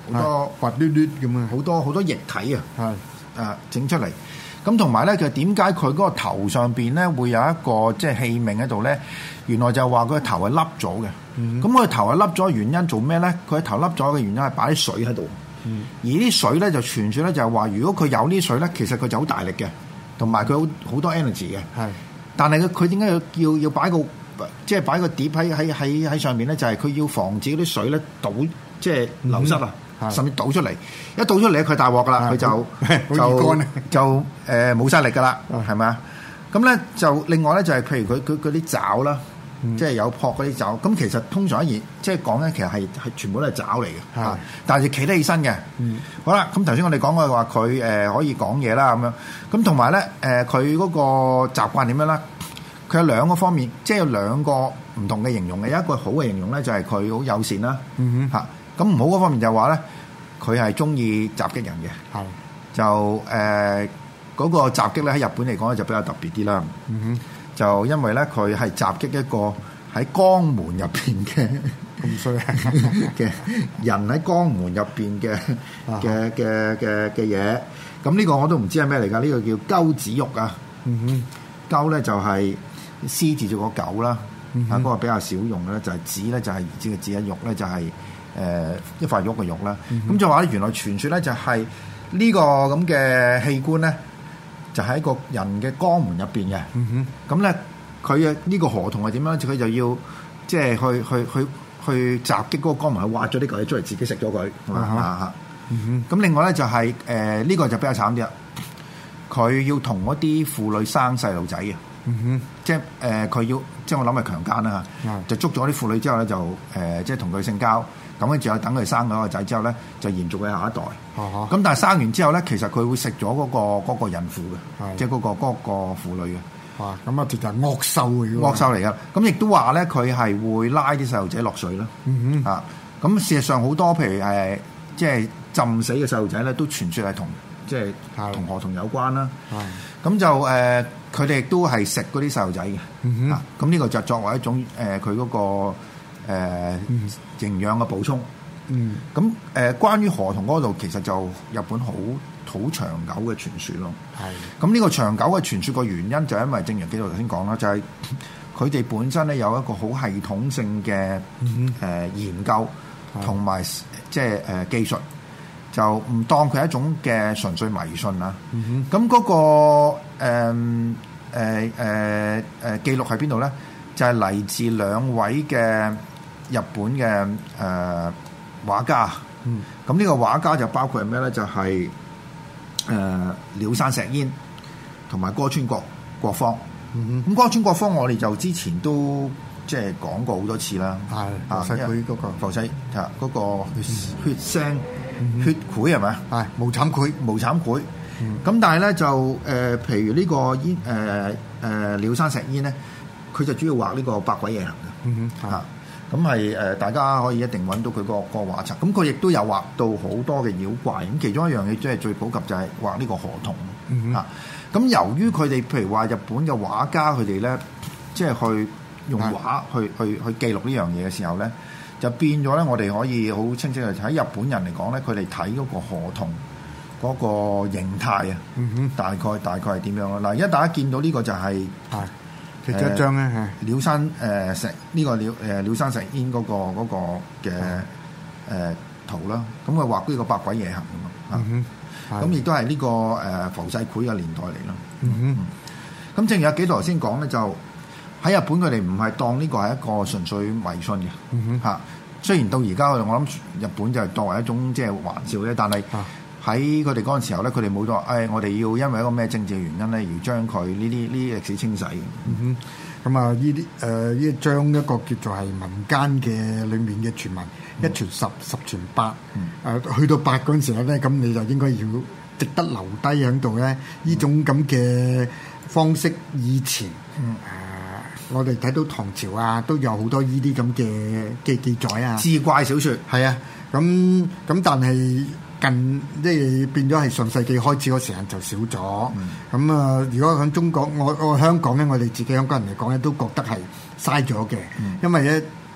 好多滑捋捋咁啊， 好多好多液體啊， 係啊整出嚟。咁同埋咧，就點解佢嗰個頭上邊咧會有一個即係器皿喺度咧？原來就話佢個頭係凹咗嘅。咁佢、嗯、頭係凹咗嘅原因做咩咧？佢頭凹咗嘅原因係擺啲水喺度。嗯、而啲水咧就傳説咧就係話，如果佢有啲水咧，其實佢就好大力嘅，同埋佢好好多 energy 嘅。係是，但係佢佢點解要要要擺個即係擺個碟喺喺喺喺上面咧？就係、是、佢要防止嗰啲水咧倒即係流失啊！嗯甚至倒出嚟，一倒出嚟佢大鑊噶啦，佢就就就誒冇晒力噶啦，係咪啊？咁咧就另外咧就係譬如佢佢嗰啲爪啦，即係有撲嗰啲爪。咁其實通常一熱即係講咧，其實係係全部都係爪嚟嘅，嚇。但係企得起身嘅。好啦，咁頭先我哋講過話佢誒可以講嘢啦咁樣。咁同埋咧誒佢嗰個習慣點樣咧？佢有兩個方面，即係有兩個唔同嘅形容嘅。有一個好嘅形容咧，就係佢好友善啦，嚇。咁唔好嗰方面就係話咧，佢係中意襲擊人嘅，係就誒嗰、呃那個襲擊咧喺日本嚟講咧就比較特別啲啦。嗯哼，就因為咧佢係襲擊一個喺江門入邊嘅咁衰嘅人喺江門入邊嘅嘅嘅嘅嘅嘢。咁呢個我都唔知係咩嚟㗎？呢、這個叫鳩子肉啊。嗯哼，鳩咧就係獅字做個狗啦。嗯哼，嗰、那個比較少用嘅咧就係子咧就係兒子嘅子，一肉咧就係、是。誒、呃、一塊肉嘅肉啦，咁、嗯、就話咧原來傳說咧就係呢個咁嘅器官咧，就喺、是、個人嘅肛門入邊嘅。咁咧佢嘅呢個河童係點樣？佢就要即係去去去去襲擊嗰個肛門，去挖咗啲嚿嘢出嚟，自己食咗佢。咁、啊嗯、另外咧就係誒呢個就比較慘啲啦，佢要同嗰啲婦女生細路仔嘅。嗯哼，即係誒佢要即係我諗係強姦啦嚇，嗯、就捉咗啲婦女之後咧就誒、呃、即係同佢性交。咁跟住又等佢生咗個仔之後咧，就延續佢下一代。咁、uh huh. 但係生完之後咧，其實佢會食咗嗰個嗰、嗰個孕婦嘅，uh huh. 即係嗰、嗰個嗰、嗰個婦女嘅。哇！咁啊，直頭係惡獸嚟嘅。惡獸嚟嘅。咁亦都話咧，佢係會拉啲細路仔落水啦。嗯哼。啊，咁事實上好多譬如誒，即係浸死嘅細路仔咧，都傳説係同即係同河童有關啦。係、uh。咁、huh. 就誒，佢哋亦都係食嗰啲細路仔嘅。嗯哼。啊，咁呢個就作為一種誒，佢嗰個。誒、呃嗯、營養嘅補充，嗯，咁誒、呃、關於河童嗰度其實就日本好好長久嘅傳說咯，係的。咁呢個長久嘅傳說個原因就係因為正如紀陶頭先講啦，就係佢哋本身咧有一個好系統性嘅誒、嗯呃、研究同埋即係誒技術，就唔當佢係一種嘅純粹迷信啦。咁嗰、嗯哼那個誒誒誒誒記錄喺邊度咧？就係、是、嚟自兩位嘅日本嘅誒、呃、畫家，咁呢、嗯、個畫家就包括係咩咧？就係誒鳥山石煙同埋歌川國國芳。咁、嗯、哼歌川國芳我哋就之前都即係講過好多次啦。係啊，佢嗰、那個浮世啊嗰個血腥、嗯、血繪係咪啊？係無慘繪，無慘繪。咁、嗯、但係咧就誒、呃，譬如呢個煙誒誒鳥山石煙咧，佢就主要畫呢個百鬼夜行嘅。嗯哼，嚇。咁係誒，大家可以一定揾到佢個個畫冊。咁佢亦都有畫到好多嘅妖怪。咁其中一樣嘢即係最普及就係畫呢個河童。嗯哼，咁由於佢哋譬如話日本嘅畫家佢哋咧，即係去用畫去去去，去記錄呢樣嘢嘅時候咧，就變咗咧，我哋可以好清晰嘅喺日本人嚟講咧，佢哋睇嗰個河童嗰個形態啊。嗯哼，大概大概係點樣啊？嗱，而家大家見到呢個就係、係。其中一張咧，係鳥山誒石呢個鳥誒鳥山石煙嗰個嗰個嘅誒圖啦。咁佢畫呢個百鬼夜行咁啊。咁亦都係呢個誒浮世繪嘅年代嚟咯。咁正如阿紀陶頭先講咧，就喺日本佢哋唔係當呢個係一個純粹迷信嘅嚇。雖然到而家我諗日本就係作為一種即係玩笑啫，但係喺佢哋嗰陣時候咧，佢哋冇話誒，我哋要因為一個咩政治原因咧，而將佢呢啲呢啲歷史清洗。嗯哼，咁啊，呢啲誒呢將一個叫做係民間嘅裡面嘅傳聞，嗯、一傳十，十傳百。誒、嗯呃，去到八嗰陣時候咧，咁你就應該要值得留低喺度咧。呢、嗯、種咁嘅方式，以前誒、嗯呃，我哋睇到唐朝啊，都有好多呢啲咁嘅嘅記載啊。志怪小説係啊，咁咁但係。近即係變咗係上世紀開始嗰時間就少咗，咁啊、嗯嗯！如果喺中國，我我香港咧，我哋自己香港人嚟講咧，都覺得係嘥咗嘅，嗯、因為咧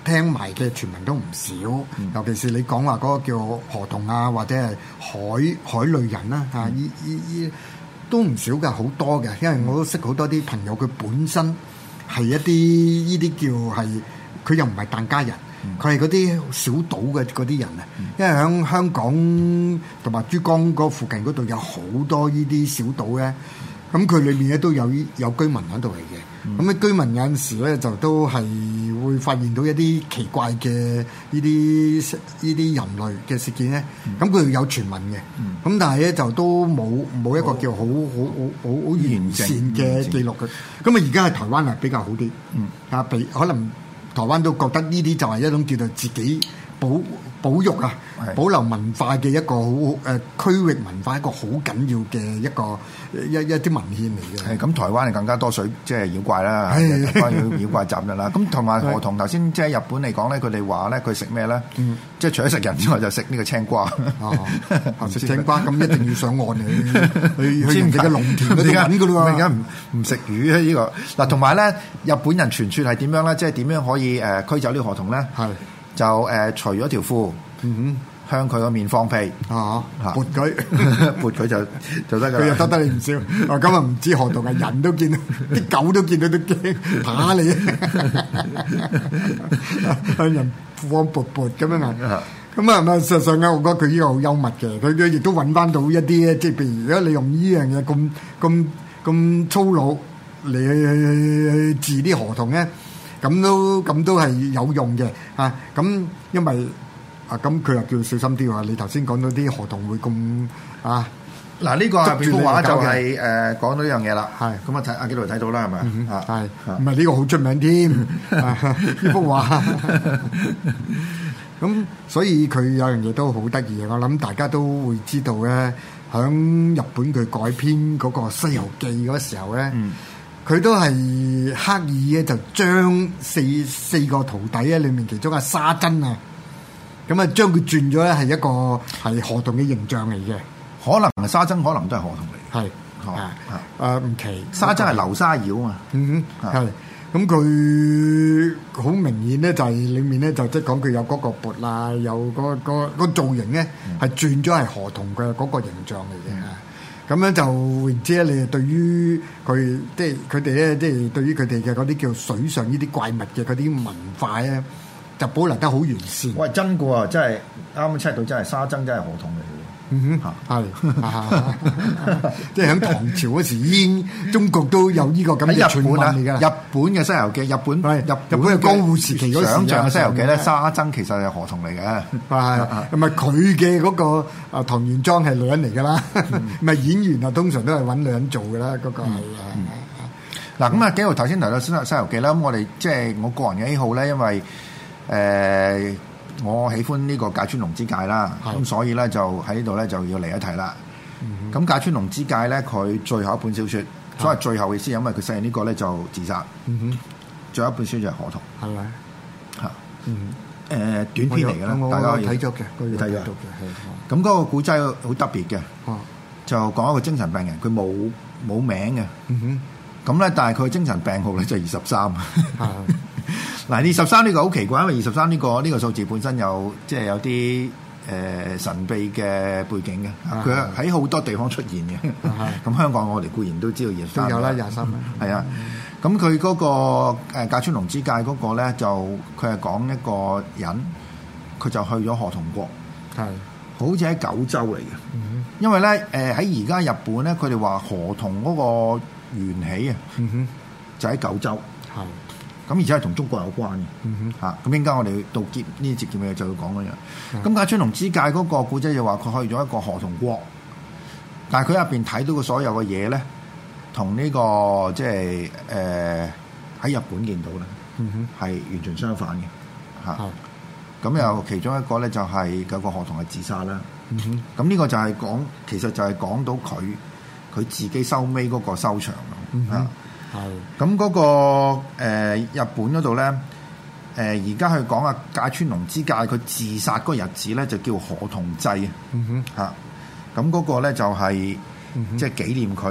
聽埋嘅傳聞都唔少，嗯、尤其是你講話嗰個叫河童啊，或者係海海類人啦嚇，依依依都唔少㗎，好多嘅，因為我都識好多啲朋友，佢本身係一啲依啲叫係，佢又唔係疍家人。佢係嗰啲小島嘅嗰啲人啊，因為喺香港同埋珠江嗰附近嗰度有好多呢啲小島咧，咁佢裏面咧都有有居民喺度嚟嘅，咁啲、嗯、居民有陣時咧就都係會發現到一啲奇怪嘅呢啲呢啲人類嘅事件咧，咁佢、嗯、有傳聞嘅，咁、嗯、但係咧就都冇冇一個叫好好好好好完善嘅記錄嘅，咁啊而家喺台灣係比較好啲，啊比、嗯、可能。台灣都覺得呢啲就係一種叫做自己保保育啊、的保留文化嘅一個好誒、呃、區域文化一個好緊要嘅一個一一啲文獻嚟嘅。 係咁，台灣係更加多水即係妖怪啦，關於妖怪集嘅啦。咁同埋河童頭先即係日本嚟講咧，佢哋話咧佢食咩咧？嗯、即係除咗食人之外，就食呢個青瓜。哦，食青瓜咁一定要上岸嚟去去人哋嘅農田嗰度揾㗎啦。而家唔唔食魚啊？呢、呢個嗱，同埋咧日本人傳說係點樣咧？即係點樣可以誒、呃、驅走呢個河童咧？係。就誒除咗條褲，嗯、哼向佢個面放屁，啊，撥佢，撥佢就就得㗎。佢又得得你唔少。我今日唔知河童係人都見到，啲狗都見到都驚，打你，向人放撥撥咁樣啊。咁啊，咪實際上咧，我覺得佢呢個好幽默嘅。佢佢亦都揾翻到一啲咧，即係譬如如果你用呢樣嘢咁咁咁粗魯嚟去去去治啲河童咧。咁都咁都係有用嘅嚇，咁、啊、因為啊咁佢又叫小心啲喎。你頭先講到啲河童會咁啊，嗱呢個係邊幅畫就係誒講到呢樣嘢啦。係咁啊，睇阿紀陶睇到啦，係咪啊？係唔係呢個好出名添？呢幅畫咁，所以佢有樣嘢都好得意嘅。我諗大家都會知道咧，響日本佢改編嗰個《西遊記》嗰時候咧。嗯佢都係刻意咧，就將四四個徒弟咧裏面其中阿沙僧啊，咁啊將佢轉咗咧係一個係河童嘅形象嚟嘅。可能沙僧可能都係河童嚟。係啊啊唔奇，沙僧係流沙妖啊嘛。嗯哼，係咁佢好明顯咧，就係裡面咧就即係講佢有嗰個缽啦，有嗰個個造型咧係轉咗係河童嘅嗰個形象嚟嘅。咁樣就唔知咧，你對於佢即係佢哋咧，即係對於佢哋嘅嗰啲叫水上呢啲怪物嘅嗰啲文化咧，就保留得好完善。喂，真嘅喎，真係啱啱 check 到，真係沙僧真係河童嚟嘅。嗯哼，係，即係喺唐朝嗰時已經中國都有呢個咁嘅傳聞嚟㗎。日本嘅《西遊記》，日本日日本嘅江戶時期嗰時想像嘅《西遊記》咧，沙僧其實係河童嚟嘅。係，咁啊佢嘅嗰個啊唐玄奘係女人嚟㗎啦，咪演員啊通常都係揾女人做㗎啦，嗰個係啊。嗱咁啊，紀陶頭先提到《西西遊記》啦，咁我哋即係我個人嘅喜好咧，因為誒。我喜歡呢個芥川龍之介啦，咁的所以咧就喺呢度咧就要嚟一提啦。咁芥、嗯、哼川龍之介咧，佢最後一本小説，的所謂最後嘅意思，因為佢寫完呢個咧就自殺。嗯、哼最後一本書就係河童，係咪？嚇，嗯，誒、呃、短篇嚟嘅啦，大家睇咗嘅，你睇咗。咁嗰個古仔好特別嘅，啊、就講一個精神病人，佢冇冇名嘅。嗯哼，咁咧，但係佢精神病號咧就二十三。嗱，二十三呢個好奇怪，因為二十三呢個呢、呢個數字本身有即係有啲誒、呃、神秘嘅背景嘅，佢喺好多地方出現嘅。咁、啊、香港我哋固然都知道二十三，都有啦廿三。係啊，咁佢嗰個誒芥川龍之介嗰個咧，就佢係講一個人，佢就去咗河童國，係的好似喺九州嚟嘅。嗯、因為咧誒喺而家日本咧，佢哋話河童嗰個緣起啊，嗯、哼就喺九州。係。咁而且係同中國有關嘅，嚇、嗯哼！咁應該我哋到結呢啲節目就要講嗰樣。咁芥、嗯、川龍之介嗰個古仔就話佢去咗一個河童國，但係佢入邊睇到嘅所有嘅嘢咧，同呢、這個即係誒喺日本見到咧，係、嗯、哼完全相反嘅，嚇、嗯。咁又其中一個咧就係有個河童係自殺啦。咁呢、嗯、哼個就係講，其實就係講到佢佢自己收尾嗰個收場咯，嚇、嗯哼。係，咁嗰、那個、呃、日本嗰度咧，誒而家去講啊，芥川龍之介佢自殺嗰日子咧就叫河童祭、嗯、哼啊，嚇，咁嗰個咧就係、是嗯、哼即係紀念佢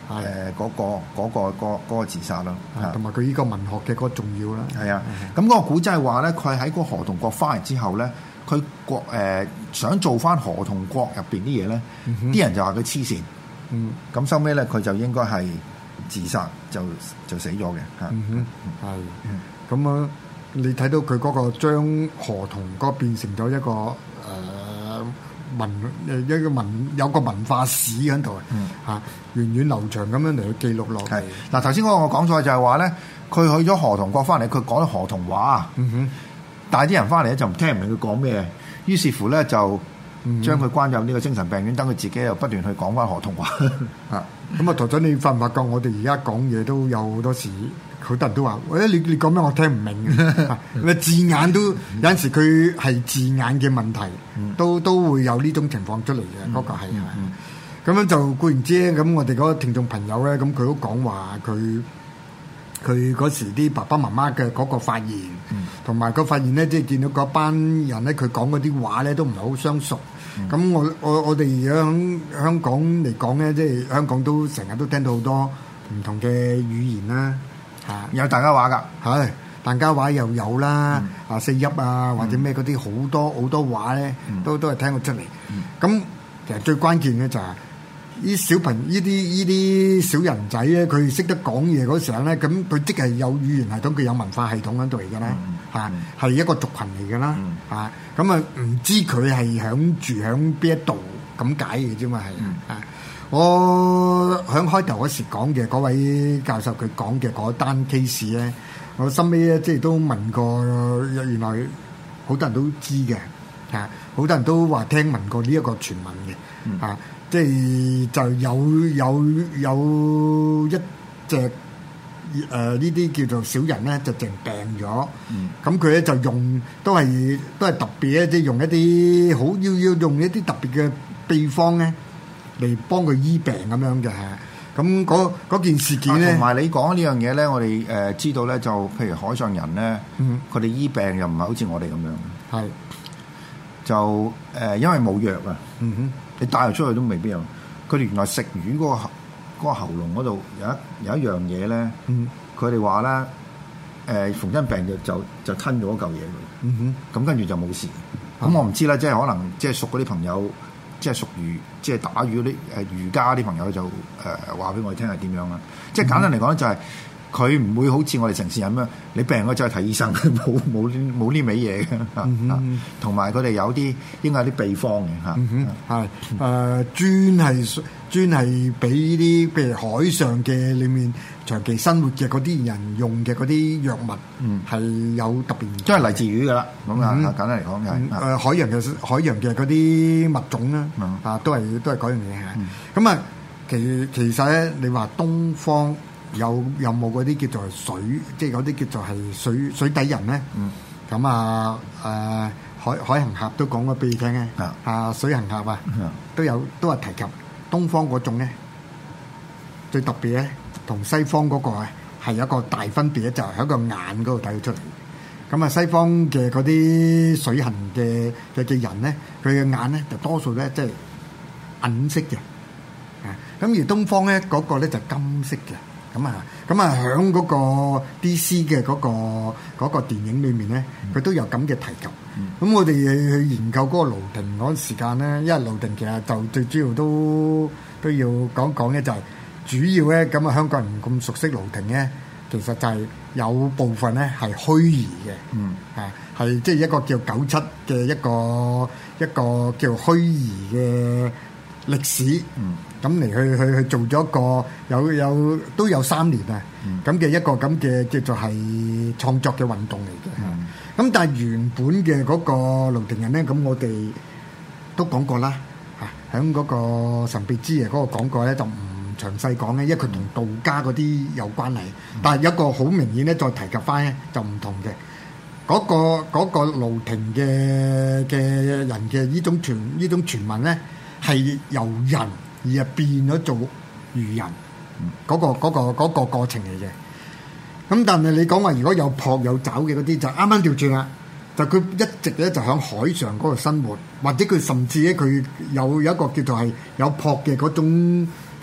誒嗰個嗰個嗰嗰個自殺咯， 同埋佢呢個文學嘅嗰個重要啦。 係啊，咁嗰個古仔係話咧，佢喺嗰個河童國翻嚟之後咧，佢國誒想做翻河童國入邊啲嘢咧，啲人就話佢黐線。嗯，咁收尾咧，佢就應該係自殺，就就死咗嘅嚇。 嗯哼，係。咁啊，你睇到佢嗰個將河童嗰變成咗一個誒、呃、文誒一個文有個文化史喺度啊，源遠流長咁樣嚟去記錄落嚟。 嗱，頭先嗰個我講錯就係話咧，佢去咗河童國翻嚟，佢講咗河童話。嗯哼，但係啲人翻嚟咧就唔聽唔明佢講咩，於是乎咧就將佢關入呢個精神病院，等佢自己又不斷去講翻河童話。 啊，咁啊，台長，你發唔發覺我哋而家講嘢都有好多時，好多人都話：喂，你你講咩？我聽唔明嘅。字眼都有陣時佢係字眼嘅問題，都都會有呢種情況出嚟嘅。嗰個係咁樣就固然之，咁我哋嗰個聽眾朋友咧，咁佢都講話佢佢嗰時啲爸爸媽媽嘅嗰個發言，同埋個發現咧，即係見到嗰班人咧，佢講嗰啲話咧，都唔係好相熟。咁、嗯、我我我哋而家喺香港嚟講咧，即係香港都成日都聽到好多唔同嘅語言啦，嚇有大家話㗎， 係大家話又有啦，啊四邑啊或者咩嗰啲好多好多話咧，都都係聽過出嚟。咁、嗯、其實最關鍵嘅就係、是。啲小朋呢啲呢啲小人仔咧，佢識得講嘢嗰時候咧，咁佢即係有語言系統，佢有文化系統喺度嚟㗎啦，嚇係一個族群嚟㗎啦，嚇咁啊唔知佢係響住響邊一度咁解嘅啫嘛係啊！我響開頭嗰時講嘅嗰位教授佢講嘅嗰單 case 咧，我後尾咧即係都問過，原來好多人都知嘅嚇，好多人都話聽聞過呢一個傳聞嘅嚇。即係就有有有一隻誒呢啲叫做小人咧，就淨病咗。咁佢咧就用都係都係特別咧，即係用一啲好要要用一啲特別嘅秘方咧嚟幫佢醫病咁樣嘅。咁嗰嗰件事件咧， 同埋你講呢樣嘢咧，我哋誒知道咧，就譬如海上人咧，佢哋醫病又唔係好似我哋咁樣。係就誒，因為冇藥啊。嗯哼。你帶佢出去都未必有。佢哋原來食魚嗰、嗰個嗰、嗰個喉嚨嗰度有一有一樣嘢咧，佢哋話咧誒逢親病就就就吞咗一嚿嘢佢，咁、嗯、跟住就冇事。咁、嗯、我唔知啦，即係可能即係熟嗰啲朋友，即係熟魚，即係打魚嗰啲誒魚家啲朋友就誒話俾我哋聽係點樣啦。即係簡單嚟講就係、是。佢唔會好似我哋城市人咁樣，你病咗就去睇醫生，冇冇冇呢味嘢嘅。同埋佢哋有啲應該有啲秘方嘅嚇。 係誒專係專係俾啲譬如海上嘅裏面長期生活嘅嗰啲人用嘅嗰啲藥物，係、嗯、有特別， 即係嚟自魚噶啦。咁啊、嗯，簡單嚟講就係誒海洋嘅海洋嘅嗰啲物種啦，嗯、啊都係都係嗰樣嘢嚇。咁、嗯、啊，其其實咧，你話東方。有有冇嗰啲叫做水，即係嗰啲叫做係水水底人咧？咁、嗯、啊誒、呃、海海行俠都講過俾你聽嘅，啊，啊水行俠啊，都有都係提及東方嗰種咧，最特別咧，同西方嗰個係有一個大分別咧，就係、是、喺個眼嗰度睇到出嚟。咁啊，西方嘅嗰啲水行嘅嘅嘅人咧，佢嘅眼咧就多數咧即係銀色嘅，啊咁而東方咧嗰、那個咧就金色嘅。咁啊，咁啊，喺嗰個 D C 嘅嗰個嗰個電影裏面咧，佢都有咁嘅提及。咁我哋去研究嗰個盧亭嗰時間咧，因為盧亭其實就最主要都都要講講咧，就係主要咧咁啊，香港人咁熟悉盧亭咧，其實就係有部分咧係虛擬嘅，嗯，啊，係即係一個叫九七嘅一個一個叫虛擬嘅歷史，嗯。咁嚟去去去做咗一個有有都有三年啊，咁嘅、嗯、一個咁嘅叫做係創作嘅運動嚟嘅。咁、嗯、但係原本嘅嗰個盧亭人咧，咁我哋都講過啦，嚇喺嗰個神秘之夜嗰個講過咧，就唔詳細講嘅，因為佢同道家嗰啲有關係。嗯、但係有一個好明顯咧，再提及翻咧就唔同嘅。嗰、嗰個嗰、嗰個盧亭嘅嘅人嘅呢種傳呢種傳聞咧，係由人。而係變咗做魚人，嗰、嗰個嗰、嗰個嗰個過程嚟嘅。咁但係你講話如果有蹼有爪嘅嗰啲就啱啱調轉啦，就佢一直咧就喺海上嗰度生活，或者佢甚至咧佢有有一個叫做係有蹼嘅嗰種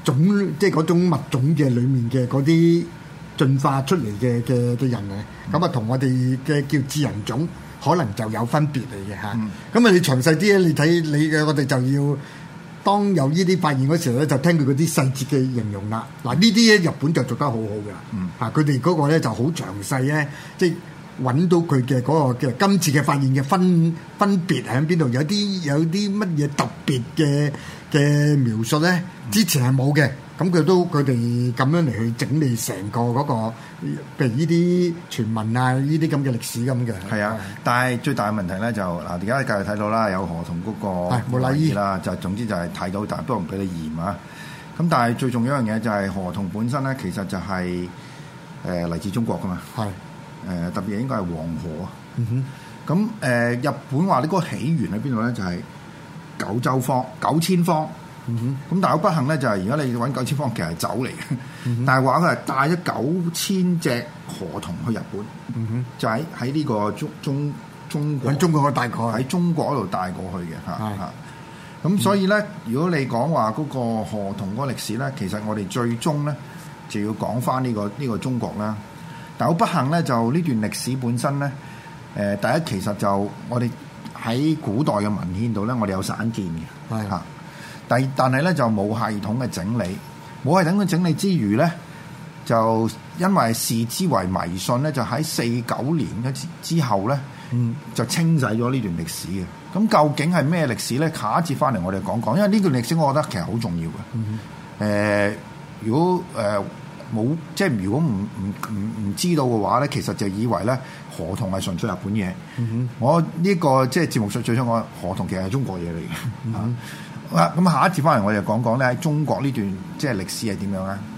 種即係嗰種物種嘅裡面嘅嗰啲進化出嚟嘅嘅嘅人嘅，咁啊同我哋嘅叫智人種可能就有分別嚟嘅嚇。咁啊、嗯、你詳細啲咧，你睇你嘅我哋就要當有呢啲發現嗰時候咧，就聽佢嗰啲細節嘅形容啦。嗱呢啲咧日本就做得好好嘅，嗯、啊佢哋嗰個咧就好詳細咧，即係揾到佢嘅嗰個嘅今次嘅發現嘅分分別喺邊度，有啲有啲乜嘢特別嘅嘅描述咧，之前係冇嘅。咁佢都佢哋咁樣嚟去整理成個嗰、那個，譬如呢啲傳聞啊，呢啲咁嘅歷史咁嘅。係啊， 但係最大嘅問題咧就嗱，而家繼續睇到啦，有河童嗰個冇禮儀啦，就總之就係睇到，但係都唔俾你驗啊。咁但係最重要一樣嘢就係河童本身咧，其實就係誒嚟自中國噶嘛。係誒、呃、特別應該係黃河啊。嗯哼。咁誒、呃、日本話呢個起源喺邊度咧？就係、是、九州方九千方。咁、嗯、但係好不幸咧，就係而家你揾九千方其實係酒嚟嘅，嗯、但係話佢係帶咗九千隻河童去日本，嗯、哼就喺喺呢個中中中國，喺中國帶過喺中國嗰度帶過去嘅嚇嚇。咁的所以咧，嗯、如果你講話嗰個河童嗰個歷史咧，其實我哋最終咧就要講翻呢個呢、呢個中國啦。但係好不幸咧，就呢段歷史本身咧，誒、呃、第一其實就我哋喺古代嘅文獻度咧，我哋有散見嘅，係嚇的。但但係咧就冇系統嘅整理，冇系統嘅整理之餘咧，就因為視之為迷信咧，就喺四九年嘅之後咧，嗯，就清洗咗呢段歷史嘅。咁究竟係咩歷史咧？下一節翻嚟我哋講講，因為呢段歷史我覺得其實好重要嘅。誒、嗯呃，如果誒冇、呃、即係如果唔唔唔唔知道嘅話咧，其實就以為咧河童係純粹日本嘢。嗯、哼我呢、這個即係節目最最想講河童其實係中國嘢嚟嘅。嗯咁下一節翻嚟，我哋講講咧喺中國呢段即係歷史係點樣咧？